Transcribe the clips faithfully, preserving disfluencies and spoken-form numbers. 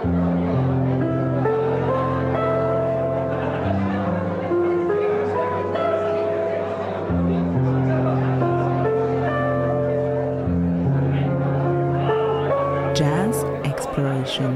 Jazz Exploration.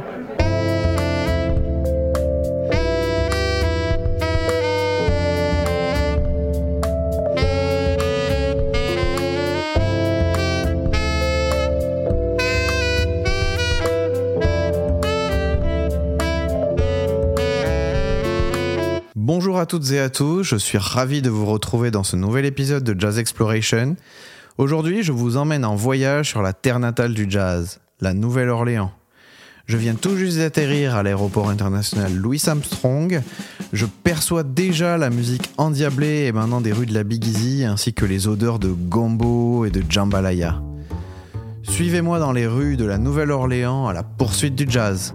Bonjour à toutes et à tous, je suis ravi de vous retrouver dans ce nouvel épisode de Jazz Exploration. Aujourd'hui, je vous emmène en voyage sur la terre natale du jazz, la Nouvelle-Orléans. Je viens tout juste d'atterrir à l'aéroport international Louis Armstrong. Je perçois déjà la musique endiablée émanant des rues de la Big Easy ainsi que les odeurs de gombo et de jambalaya. Suivez-moi dans les rues de la Nouvelle-Orléans à la poursuite du jazz.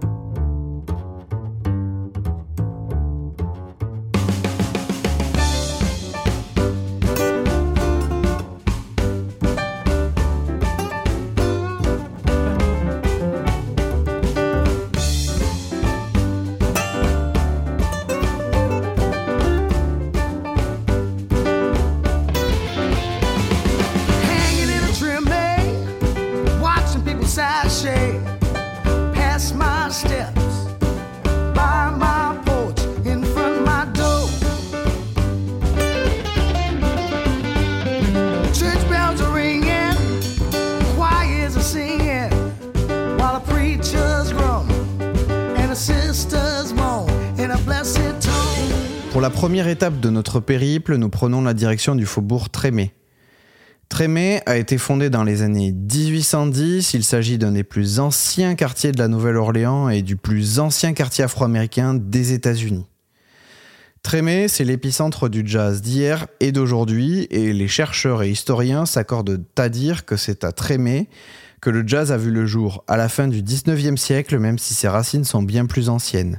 Pour la première étape de notre périple, nous prenons la direction du faubourg Trémé. Trémé a été fondé dans les années dix-huit cent dix. Il s'agit d'un des plus anciens quartiers de la Nouvelle-Orléans et du plus ancien quartier afro-américain des États-Unis. Trémé, c'est l'épicentre du jazz d'hier et d'aujourd'hui, et les chercheurs et historiens s'accordent à dire que c'est à Trémé que le jazz a vu le jour à la fin du dix-neuvième siècle, même si ses racines sont bien plus anciennes.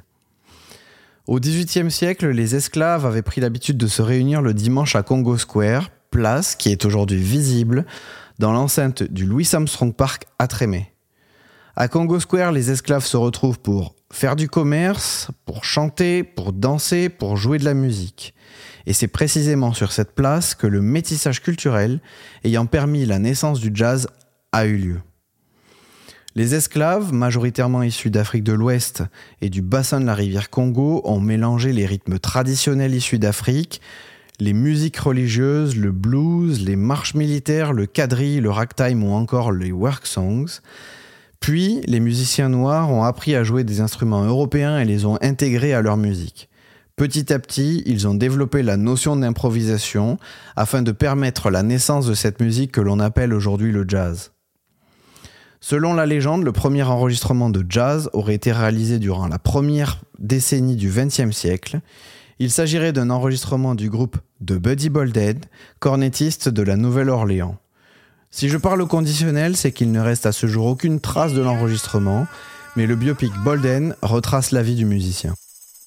Au dix-huitième siècle, les esclaves avaient pris l'habitude de se réunir le dimanche à Congo Square, place qui est aujourd'hui visible dans l'enceinte du Louis Armstrong Park à Trémé. À Congo Square, les esclaves se retrouvent pour faire du commerce, pour chanter, pour danser, pour jouer de la musique. Et c'est précisément sur cette place que le métissage culturel ayant permis la naissance du jazz a eu lieu. Les esclaves, majoritairement issus d'Afrique de l'Ouest et du bassin de la rivière Congo, ont mélangé les rythmes traditionnels issus d'Afrique, les musiques religieuses, le blues, les marches militaires, le quadrille, le ragtime ou encore les work songs. Puis, les musiciens noirs ont appris à jouer des instruments européens et les ont intégrés à leur musique. Petit à petit, ils ont développé la notion d'improvisation afin de permettre la naissance de cette musique que l'on appelle aujourd'hui le jazz. Selon la légende, le premier enregistrement de jazz aurait été réalisé durant la première décennie du vingtième siècle. Il s'agirait d'un enregistrement du groupe de Buddy Bolden, cornettiste de la Nouvelle-Orléans. Si je parle au conditionnel, c'est qu'il ne reste à ce jour aucune trace de l'enregistrement, mais le biopic Bolden retrace la vie du musicien.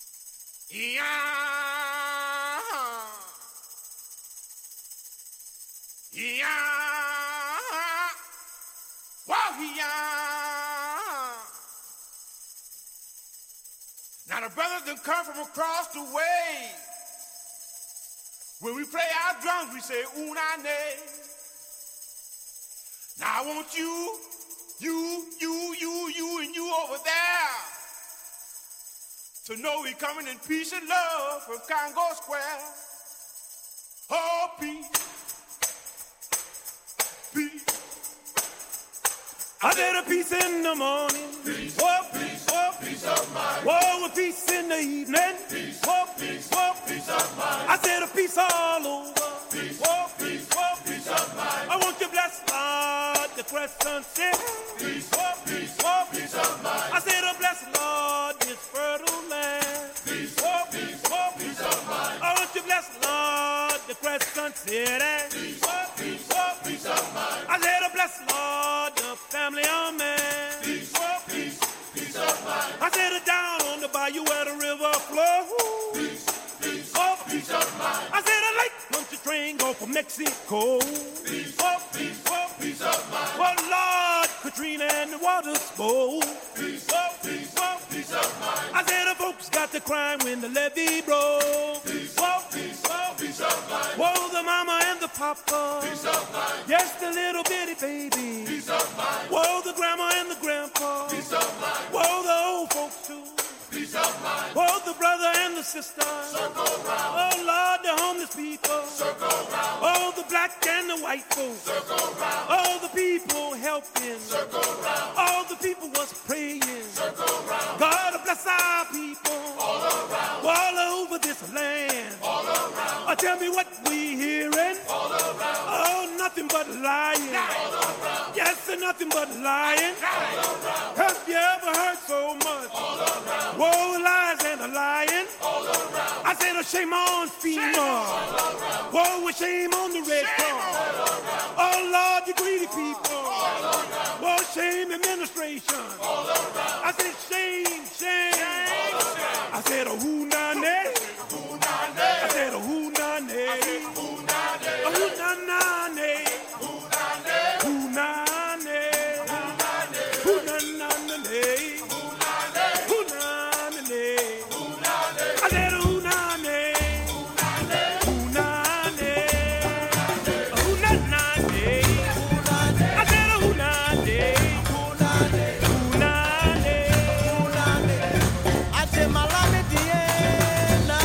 Now the brothers done come from across the way. When we play our drums, we say oonane. Now I want you, you, you, you, you, and you over there to know we coming in peace and love from Congo Square. Oh, peace, peace. I said a peace in the morning. Peace, oh, peace, oh, peace of mind. Whoa, a peace in the evening. Peace, oh, peace, oh, peace of mind. I said a peace all over. Peace, oh, peace, oh, peace of mind. I want you blessed, Lord, the crescent city. Peace, oh, peace, oh, peace of mind. I said a blessed Lord, this fertile land. Peace, oh, peace, oh, peace of mind. I want you blessed, Lord, the crescent city. Peace, oh, peace, oh, peace of mind. I said a blessed Lord, the family of man. Peace, oh, peace, peace of mind. I said it down on the bayou where the river flows. Peace, peace, oh, peace of mind. I said a lake country train go from Mexico. Peace, oh, peace, oh, peace of mind. Well, Lord, Katrina and the water spoke. Peace, oh, peace, oh, peace crying when the levee broke. Peace, whoa, peace, whoa, peace of mind. Whoa, the mama and the papa. Peace of mind. Yes, the little bitty baby. Peace of mind. Whoa, the grandma and the grandpa. Peace of mind. Whoa, the old folks too. Peace of mind. Whoa, the brother and the sister. Circle round. Oh Lord, the homeless people. Circle round. Oh, the black and the white folks. Circle round. Oh, the people helping. Circle round. All the people was praying. Circle round. God bless our people. All around. All over this land. All around. Oh, tell me what we hearing. All around. Oh, nothing but lying. All around. Yes, and nothing but lying. All around. Have you ever heard so much? All around. Whoa, lies and a lying. All around. I said a shame on FEMA. Whoa, a shame on the Red Cross. Oh Lord, you greedy people. Whoa, shame administration. I said shame, shame. I said a who na ne. I said a who na ne. A who na na ne. Who na ne. Who na na na ne. Malame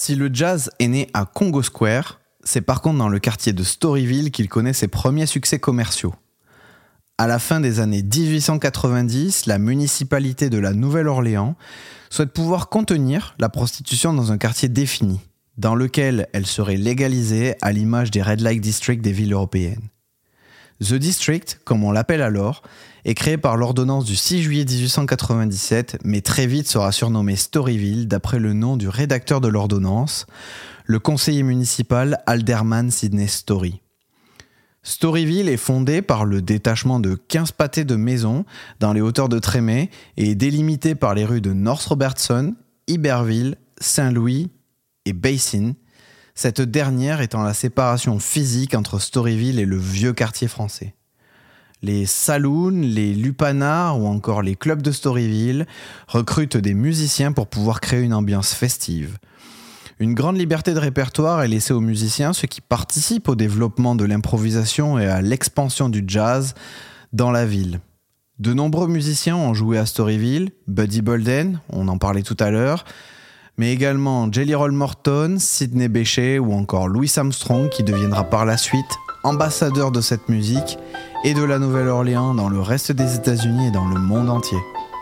Si le jazz est né à Congo Square, c'est par contre dans le quartier de Storyville qu'il connaît ses premiers succès commerciaux. À la fin des années dix-huit cent quatre-vingt-dix, la municipalité de la Nouvelle-Orléans souhaite pouvoir contenir la prostitution dans un quartier défini, dans lequel elle serait légalisée à l'image des Red Light District des villes européennes. The District, comme on l'appelle alors, est créé par l'ordonnance du six juillet dix-huit cent quatre-vingt-dix-sept, mais très vite sera surnommé Storyville d'après le nom du rédacteur de l'ordonnance, le conseiller municipal Alderman Sidney Story. Storyville est fondé par le détachement de quinze pâtés de maisons dans les hauteurs de Trémé et est délimité par les rues de North Robertson, Iberville, Saint-Louis et Basin, cette dernière étant la séparation physique entre Storyville et le vieux quartier français. Les saloons, les lupanards ou encore les clubs de Storyville recrutent des musiciens pour pouvoir créer une ambiance festive. Une grande liberté de répertoire est laissée aux musiciens, ce qui participe au développement de l'improvisation et à l'expansion du jazz dans la ville. De nombreux musiciens ont joué à Storyville, Buddy Bolden, on en parlait tout à l'heure, mais également Jelly Roll Morton, Sidney Bechet ou encore Louis Armstrong qui deviendra par la suite ambassadeur de cette musique et de la Nouvelle-Orléans dans le reste des États-Unis et dans le monde entier.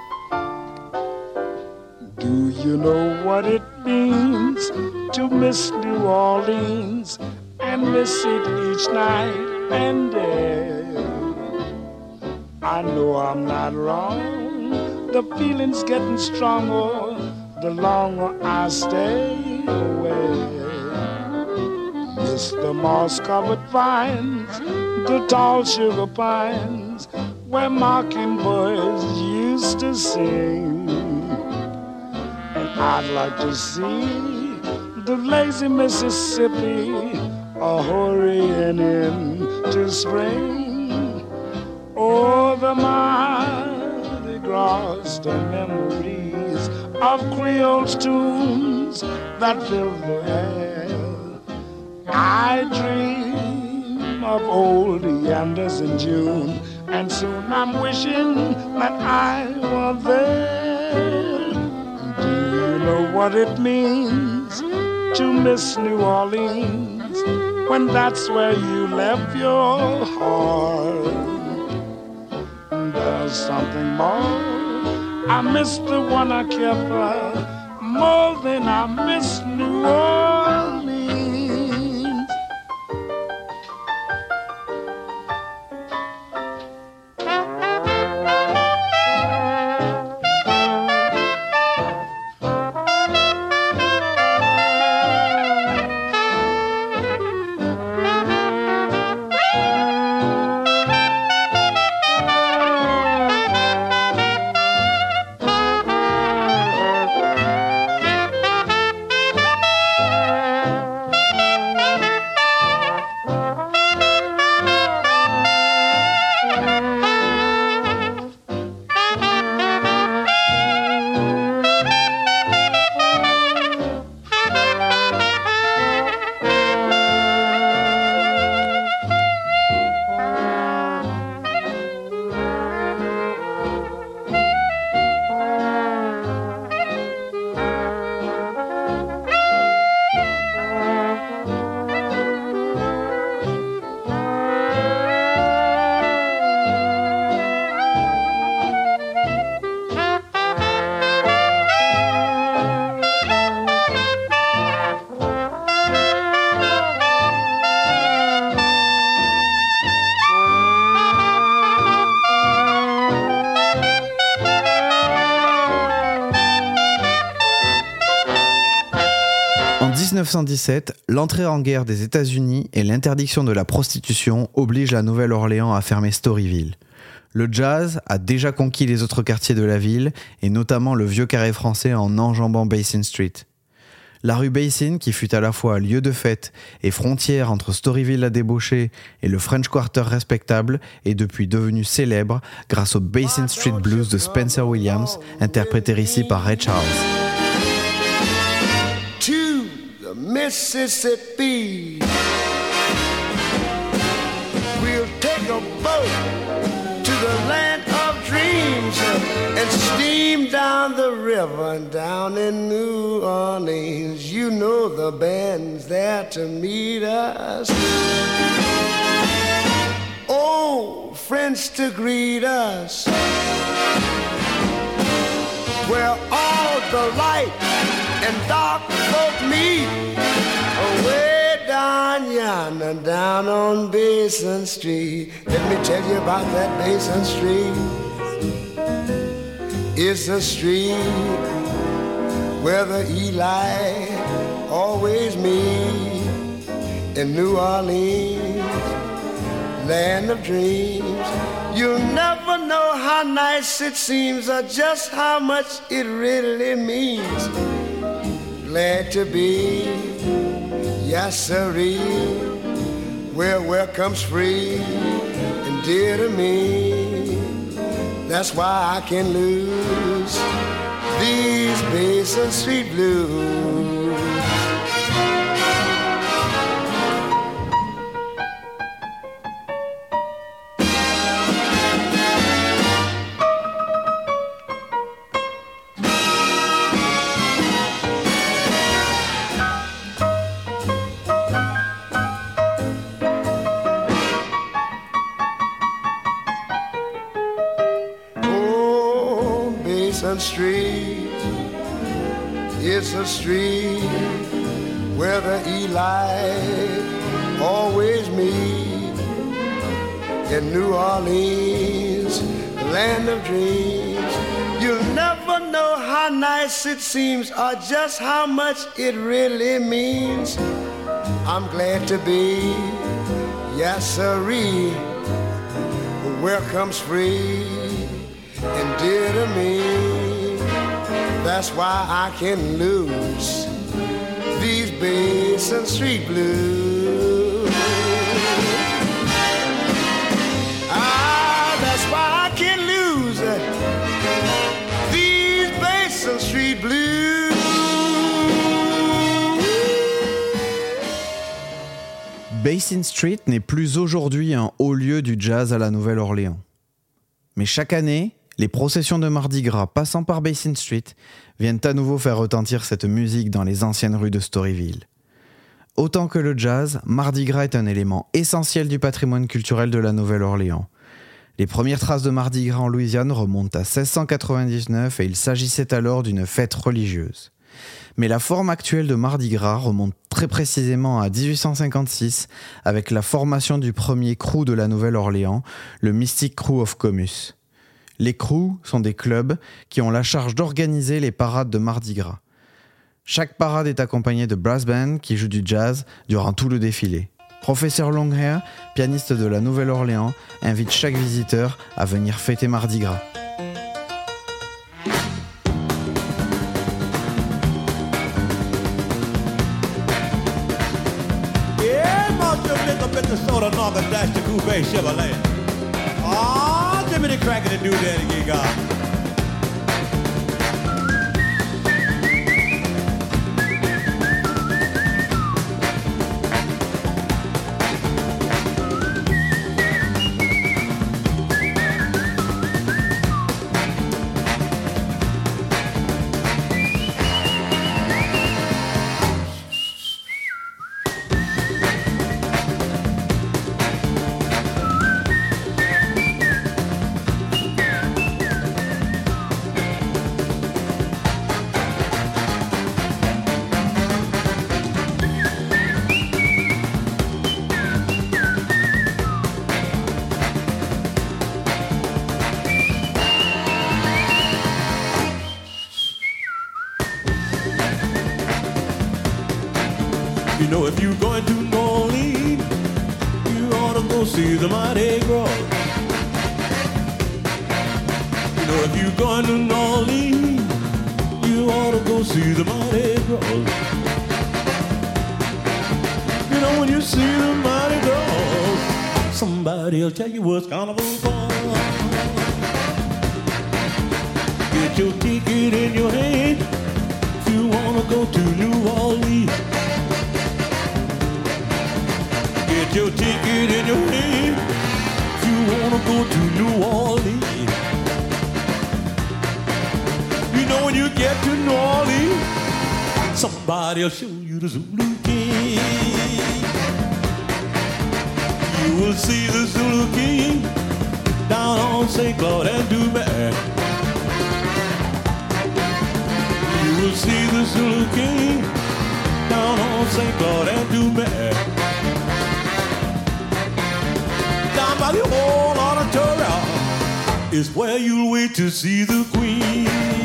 Do you know what it means to miss New Orleans and miss it each night and day? I know I'm not wrong, the feeling's getting stronger the longer I stay away. Miss the moss-covered vines, the tall sugar pines, where mockingbirds used to sing. And I'd like to see the lazy Mississippi a-hurrying into spring. Oh, the Mardi Gras, the memories of Creole's tunes that fill the air. I dream of old yanders in June, and soon I'm wishing that I were there. Do you know what it means to miss New Orleans when that's where you left your heart? There's something more, I miss the one I care for more than I miss New Orleans. En dix-neuf cent dix-sept, l'entrée en guerre des États-Unis et l'interdiction de la prostitution obligent la Nouvelle-Orléans à fermer Storyville. Le jazz a déjà conquis les autres quartiers de la ville, et notamment le vieux carré français en enjambant Basin Street. La rue Basin, qui fut à la fois lieu de fête et frontière entre Storyville la débauchée et le French Quarter respectable, est depuis devenue célèbre grâce au Basin Street Blues de Spencer Williams, interprété ici par Ray Charles. Mississippi, we'll take a boat to the land of dreams and steam Speeding down the river down in New Orleans, you know the band's there to meet us. Oh, friends to greet us. Where all the light and dark folk meet, away down yonder, down on Basin Street. Let me tell you about that Basin Street. It's a street where the Eli always meet in New Orleans, land of dreams. You'll never know how nice it seems or just how much it really means. Glad to be, yes sirree, where welcome's free and dear to me. That's why I can lose these Basin Street blues. Street, it's a street where the Eli always meet in New Orleans, land of dreams. You'll never know how nice it seems or just how much it really means. I'm glad to be, yes sirree, where comes free and dear to me. That's why I can lose these Basin Street blues. Ah, that's why I can lose these Basin Street blues. Basin Street n'est plus aujourd'hui un haut lieu du jazz à la Nouvelle-Orléans. Mais chaque année, les processions de Mardi Gras passant par Basin Street viennent à nouveau faire retentir cette musique dans les anciennes rues de Storyville. Autant que le jazz, Mardi Gras est un élément essentiel du patrimoine culturel de la Nouvelle-Orléans. Les premières traces de Mardi Gras en Louisiane remontent à seize cent quatre-vingt-dix-neuf et il s'agissait alors d'une fête religieuse. Mais la forme actuelle de Mardi Gras remonte très précisément à dix-huit cent cinquante-six avec la formation du premier crew de la Nouvelle-Orléans, le Mystic Crew of Comus. Les crews sont des clubs qui ont la charge d'organiser les parades de Mardi Gras. Chaque parade est accompagnée de brass band qui jouent du jazz durant tout le défilé. Professeur Longhair, pianiste de la Nouvelle-Orléans, invite chaque visiteur à venir fêter Mardi Gras. Give me the cracker to do that again, God. You know, if you're going to New Orleans, you ought to go see the Mardi Gras. You know, if you're going to New Orleans, you ought to go see the Mardi Gras. You know, when you see the Mardi Gras, somebody'll tell you what's carnival for. Get your ticket in your hand if you wanna go to New Orleans. Get your ticket in your hand if you wanna go to New Orleans. you get to New Orleans, somebody'll show you the Zulu King. You will see the Zulu King down on Saint Claude and Dumas. You will see the Zulu King down on Saint Claude and Dumas. Down by the old auditorium is where you'll wait to see the Queen.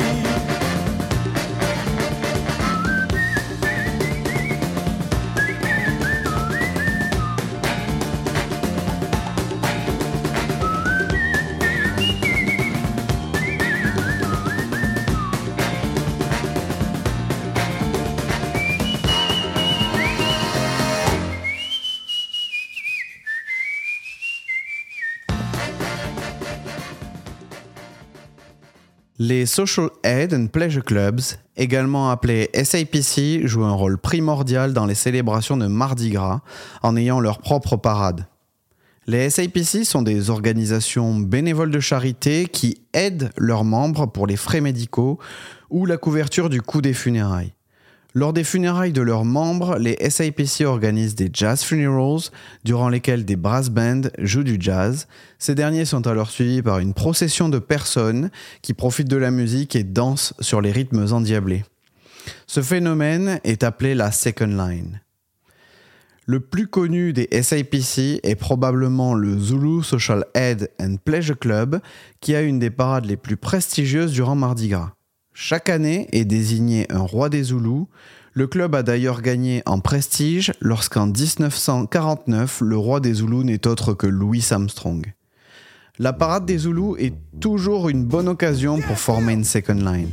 Les Social Aid and Pleasure Clubs, également appelés S A P C, jouent un rôle primordial dans les célébrations de Mardi Gras en ayant leur propre parade. Les S A P C sont des organisations bénévoles de charité qui aident leurs membres pour les frais médicaux ou la couverture du coût des funérailles. Lors des funérailles de leurs membres, les S A P C organisent des jazz funerals durant lesquels des brass bands jouent du jazz. Ces derniers sont alors suivis par une procession de personnes qui profitent de la musique et dansent sur les rythmes endiablés. Ce phénomène est appelé la second line. Le plus connu des S A P C est probablement le Zulu Social Aid and Pleasure Club, qui a une des parades les plus prestigieuses durant Mardi Gras. Chaque année est désigné un roi des Zoulous. Le club a d'ailleurs gagné en prestige lorsqu'en dix-neuf cent quarante-neuf, le roi des Zoulous n'est autre que Louis Armstrong. La parade des Zoulous est toujours une bonne occasion pour former une second line.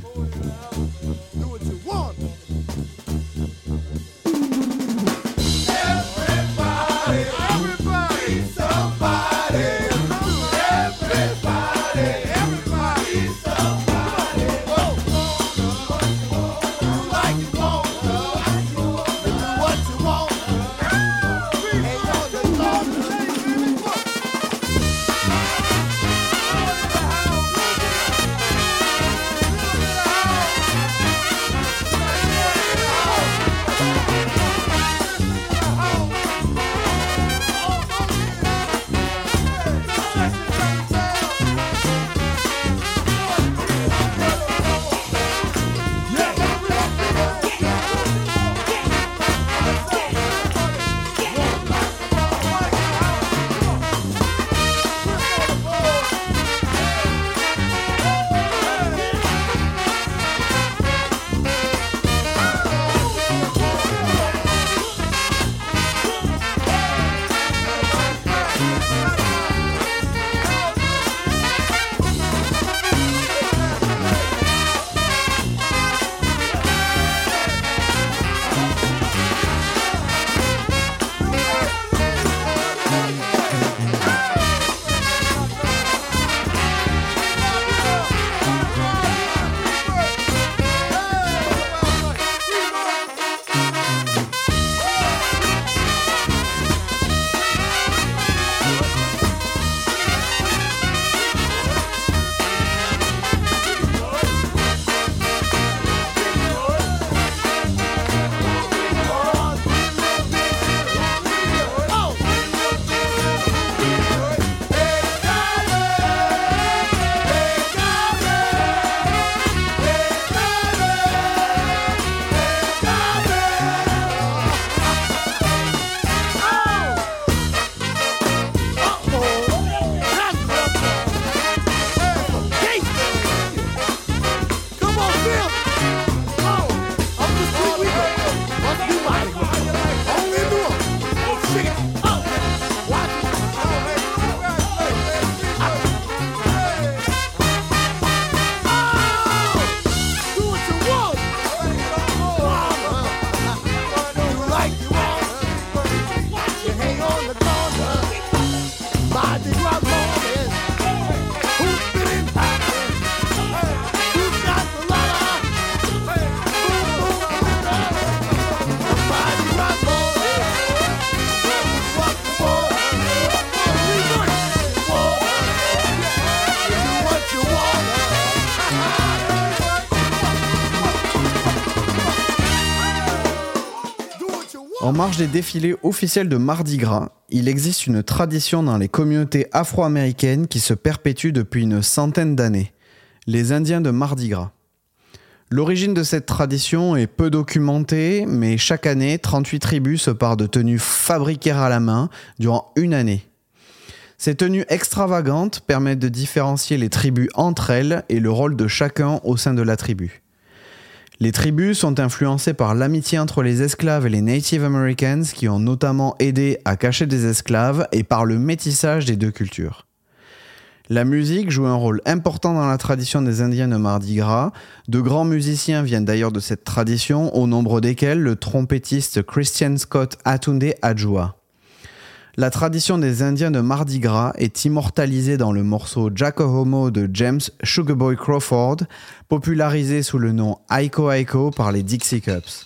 En marge des défilés officiels de Mardi Gras, il existe une tradition dans les communautés afro-américaines qui se perpétue depuis une centaine d'années, les Indiens de Mardi Gras. L'origine de cette tradition est peu documentée, mais chaque année, trente-huit tribus se parent de tenues fabriquées à la main durant une année. Ces tenues extravagantes permettent de différencier les tribus entre elles et le rôle de chacun au sein de la tribu. Les tribus sont influencées par l'amitié entre les esclaves et les Native Americans qui ont notamment aidé à cacher des esclaves et par le métissage des deux cultures. La musique joue un rôle important dans la tradition des Indiens de Mardi Gras. De grands musiciens viennent d'ailleurs de cette tradition, au nombre desquels le trompettiste Christian Scott Atunde Adjoa. La tradition des Indiens de Mardi Gras est immortalisée dans le morceau Jacko Homo de James Sugarboy Crawford, popularisé sous le nom Aiko Aiko par les Dixie Cups.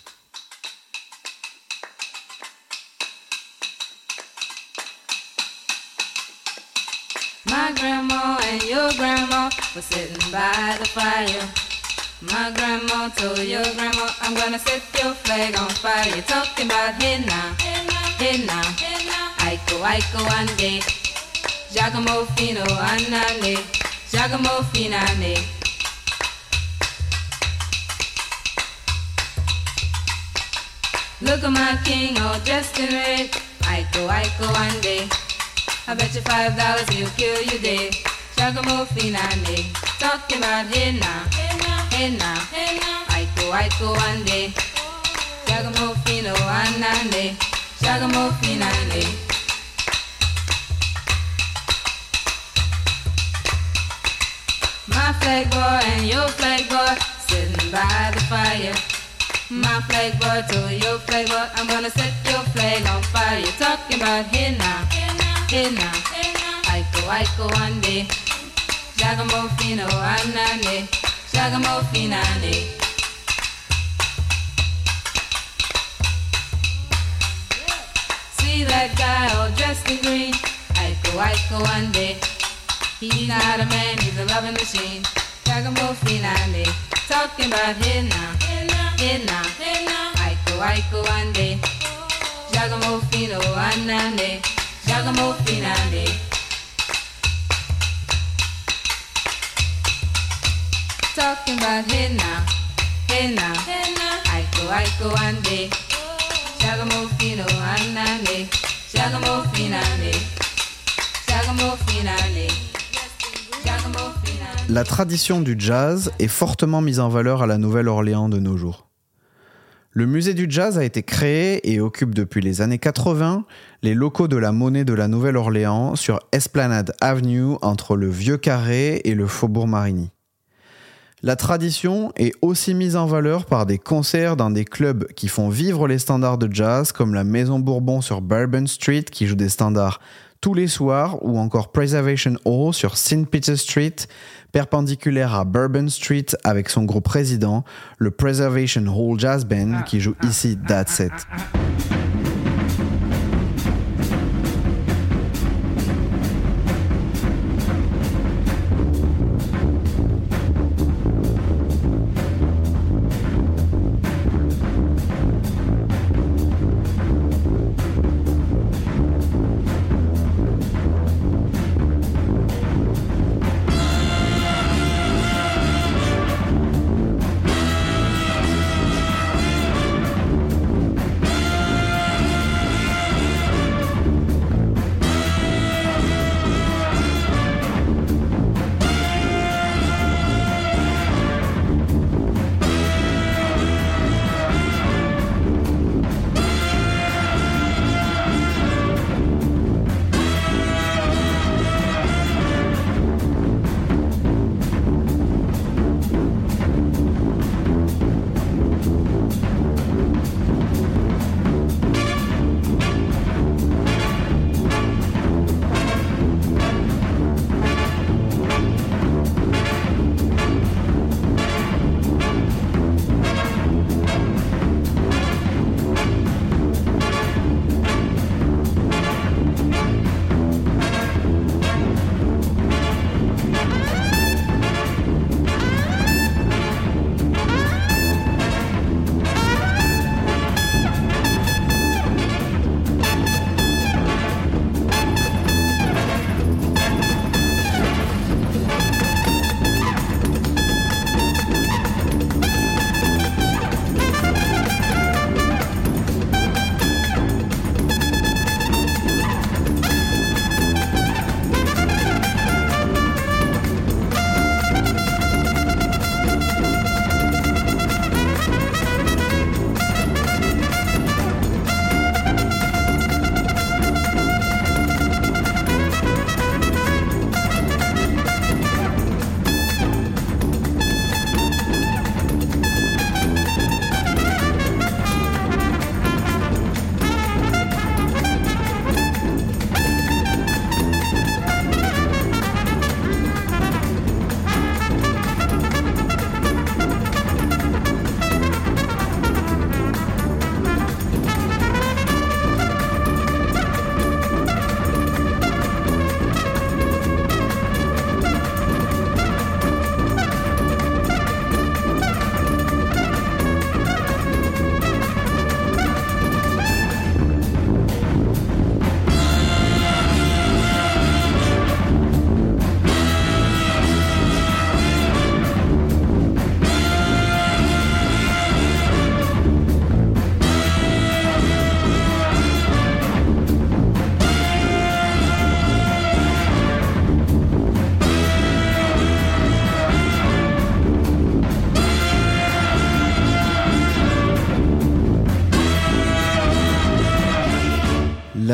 My grandma and your grandma were sitting by the fire. My grandma told your grandma, I'm gonna set your flag on fire. You're talking about hey now, hey now, Aiko Aiko ande, Giacomo Fino anane, Giacomo Finane. Look at my king all dressed in red, Aiko Aiko ande. I bet you five dollars he'll kill you dead. Giacomo Finane, talking about hey now, hey now, hey now, Aiko Aiko ande, Giacomo Fino anane, Giacomo Finane. My flag boy and your flag boy sitting by the fire. My flag boy told your flag boy, I'm gonna set your flag on fire. You're talking about hey now, hey now, Aiko Aiko ande, Giacomo Fino anane, Giacomo Finane. See that guy all dressed in green, Aiko Aiko ande. He's not a man, he's a loving machine, Giacomo Finane. Talking about hey now, hey now, Aiko Aiko ande, Giacomo Fino anane, Giacomo Finane. Talking about hey now, hey now, Aiko Aiko ande, Giacomo Fino anane, Giacomo Finane, Giacomo Finane, Giacomo Finane. La tradition du jazz est fortement mise en valeur à la Nouvelle-Orléans de nos jours. Le musée du jazz a été créé et occupe depuis les années quatre-vingts les locaux de la Monnaie de la Nouvelle-Orléans sur Esplanade Avenue entre le Vieux Carré et le Faubourg Marigny. La tradition est aussi mise en valeur par des concerts dans des clubs qui font vivre les standards de jazz comme la Maison Bourbon sur Bourbon Street qui joue des standards tous les soirs ou encore Preservation Hall sur Saint Peter Street, perpendiculaire à Bourbon Street avec son groupe résident, le Preservation Hall Jazz Band qui joue ici That's It.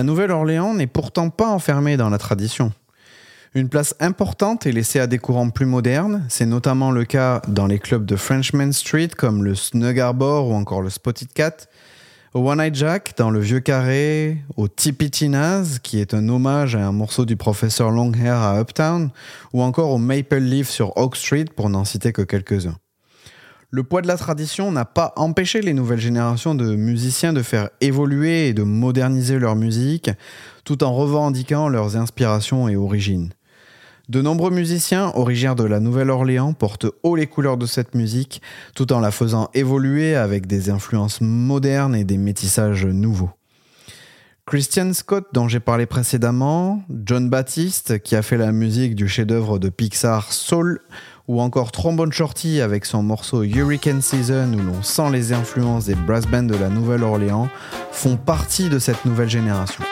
La Nouvelle-Orléans n'est pourtant pas enfermée dans la tradition. Une place importante est laissée à des courants plus modernes, c'est notamment le cas dans les clubs de Frenchman Street comme le Snug Harbor ou encore le Spotted Cat, au One Eye Jack dans le Vieux Carré, au Tippy Tina's qui est un hommage à un morceau du professeur Longhair à Uptown, ou encore au Maple Leaf sur Oak Street pour n'en citer que quelques-uns. Le poids de la tradition n'a pas empêché les nouvelles générations de musiciens de faire évoluer et de moderniser leur musique, tout en revendiquant leurs inspirations et origines. De nombreux musiciens originaires de la Nouvelle-Orléans portent haut les couleurs de cette musique, tout en la faisant évoluer avec des influences modernes et des métissages nouveaux. Christian Scott, dont j'ai parlé précédemment, John Baptiste, qui a fait la musique du chef-d'œuvre de Pixar Soul, ou encore Trombone Shorty avec son morceau Hurricane Season où l'on sent les influences des brass bands de la Nouvelle-Orléans, font partie de cette nouvelle génération.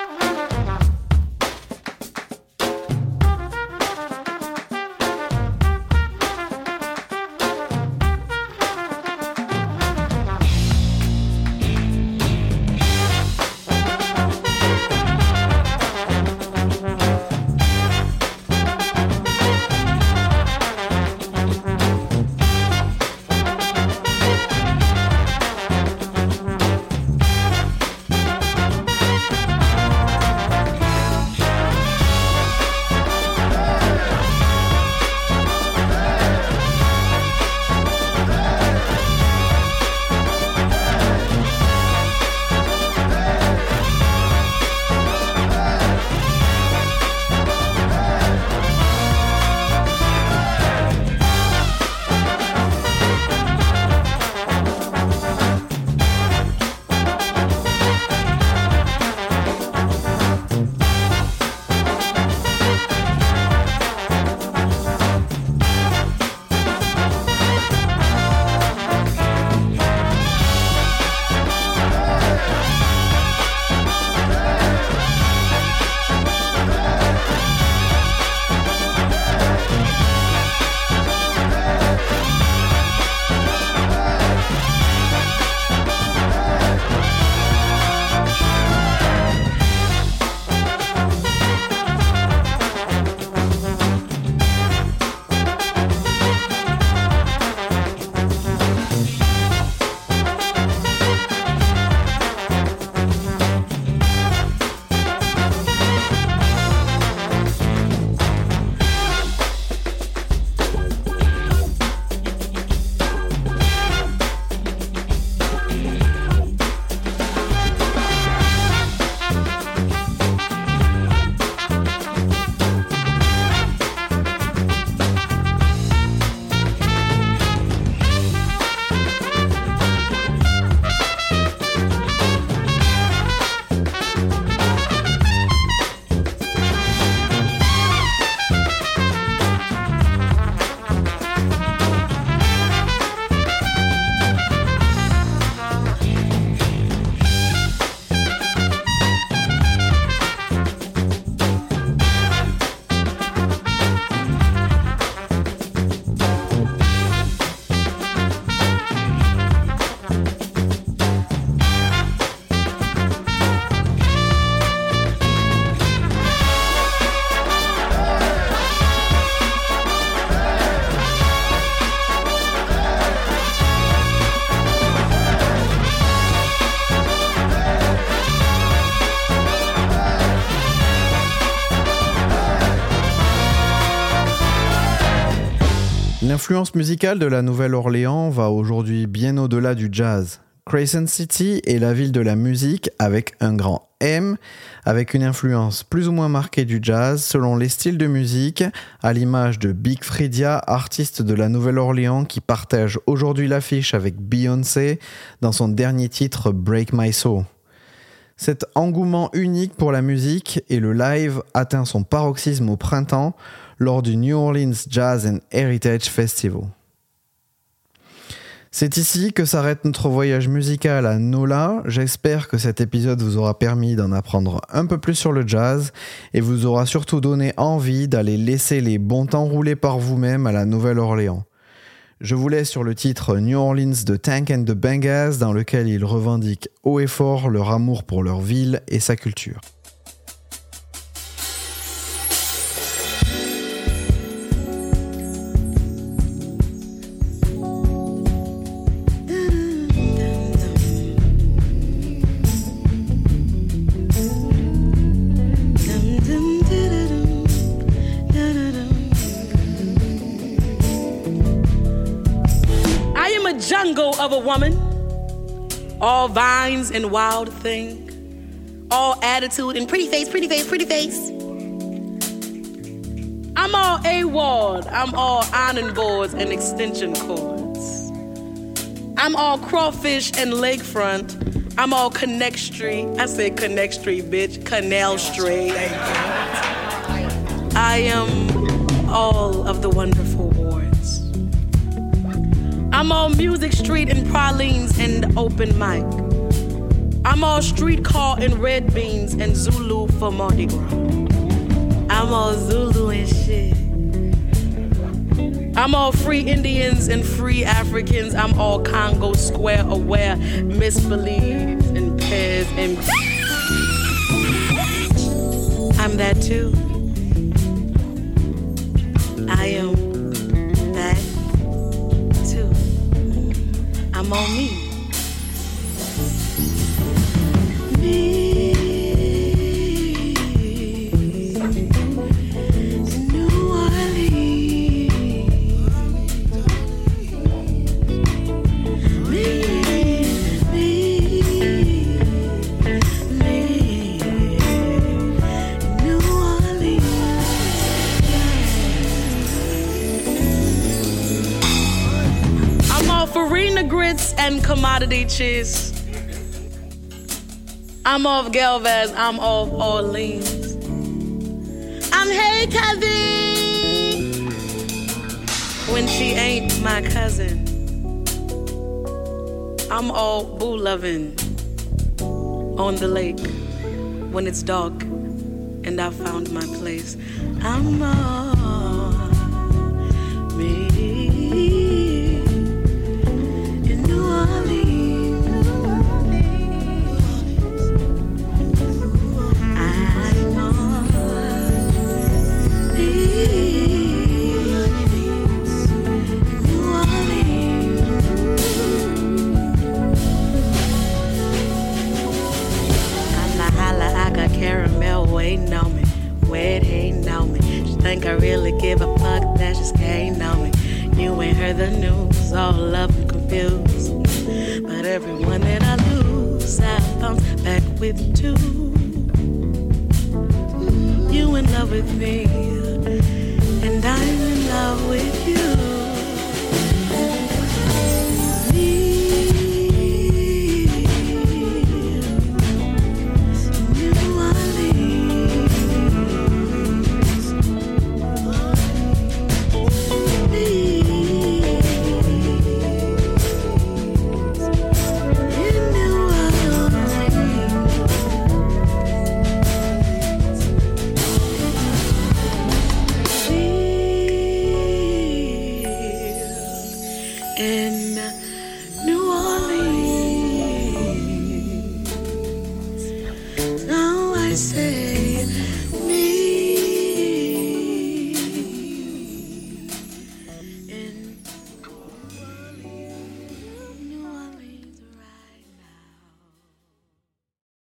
L'influence musicale de la Nouvelle-Orléans va aujourd'hui bien au-delà du jazz. Crescent City est la ville de la musique avec un grand M, avec une influence plus ou moins marquée du jazz selon les styles de musique, à l'image de Big Freedia, artiste de la Nouvelle-Orléans qui partage aujourd'hui l'affiche avec Beyoncé dans son dernier titre Break My Soul. Cet engouement unique pour la musique et le live atteint son paroxysme au printemps lors du New Orleans Jazz and Heritage Festival. C'est ici que s'arrête notre voyage musical à NOLA. J'espère que cet épisode vous aura permis d'en apprendre un peu plus sur le jazz et vous aura surtout donné envie d'aller laisser les bons temps rouler par vous-même à la Nouvelle-Orléans. Je vous laisse sur le titre New Orleans de Tank and the Bangas dans lequel ils revendiquent haut et fort leur amour pour leur ville et sa culture. jungle of a woman, all vines and wild thing, all attitude and pretty face, pretty face, pretty face. I'm all AWOL, I'm all ironing boards and extension cords. I'm all crawfish and lakefront. I'm all Connect Street. I said Connect Street, bitch. Canal Street. I am all of the wonderful wards. I'm all Music Street and pralines and open mic. I'm all streetcar and red beans and Zulu for Mardi Gras. I'm all Zulu and shit. I'm all free Indians and free Africans. I'm all Congo Square aware, misbelieves and pairs and I'm that too. I am that too. I'm all me. Me. Farina grits and commodity cheese. I'm off Galvez, I'm off Orleans. I'm hey cousin when she ain't my cousin. I'm all boo loving on the lake when it's dark and I found my place. I'm all me. Caramel waiting on me, wet hating on me. She think I really give a fuck, that just can't on me. You ain't heard the news, all love and confused. But everyone that I lose, I bounce back with two. You in love with me, and I'm in love with you.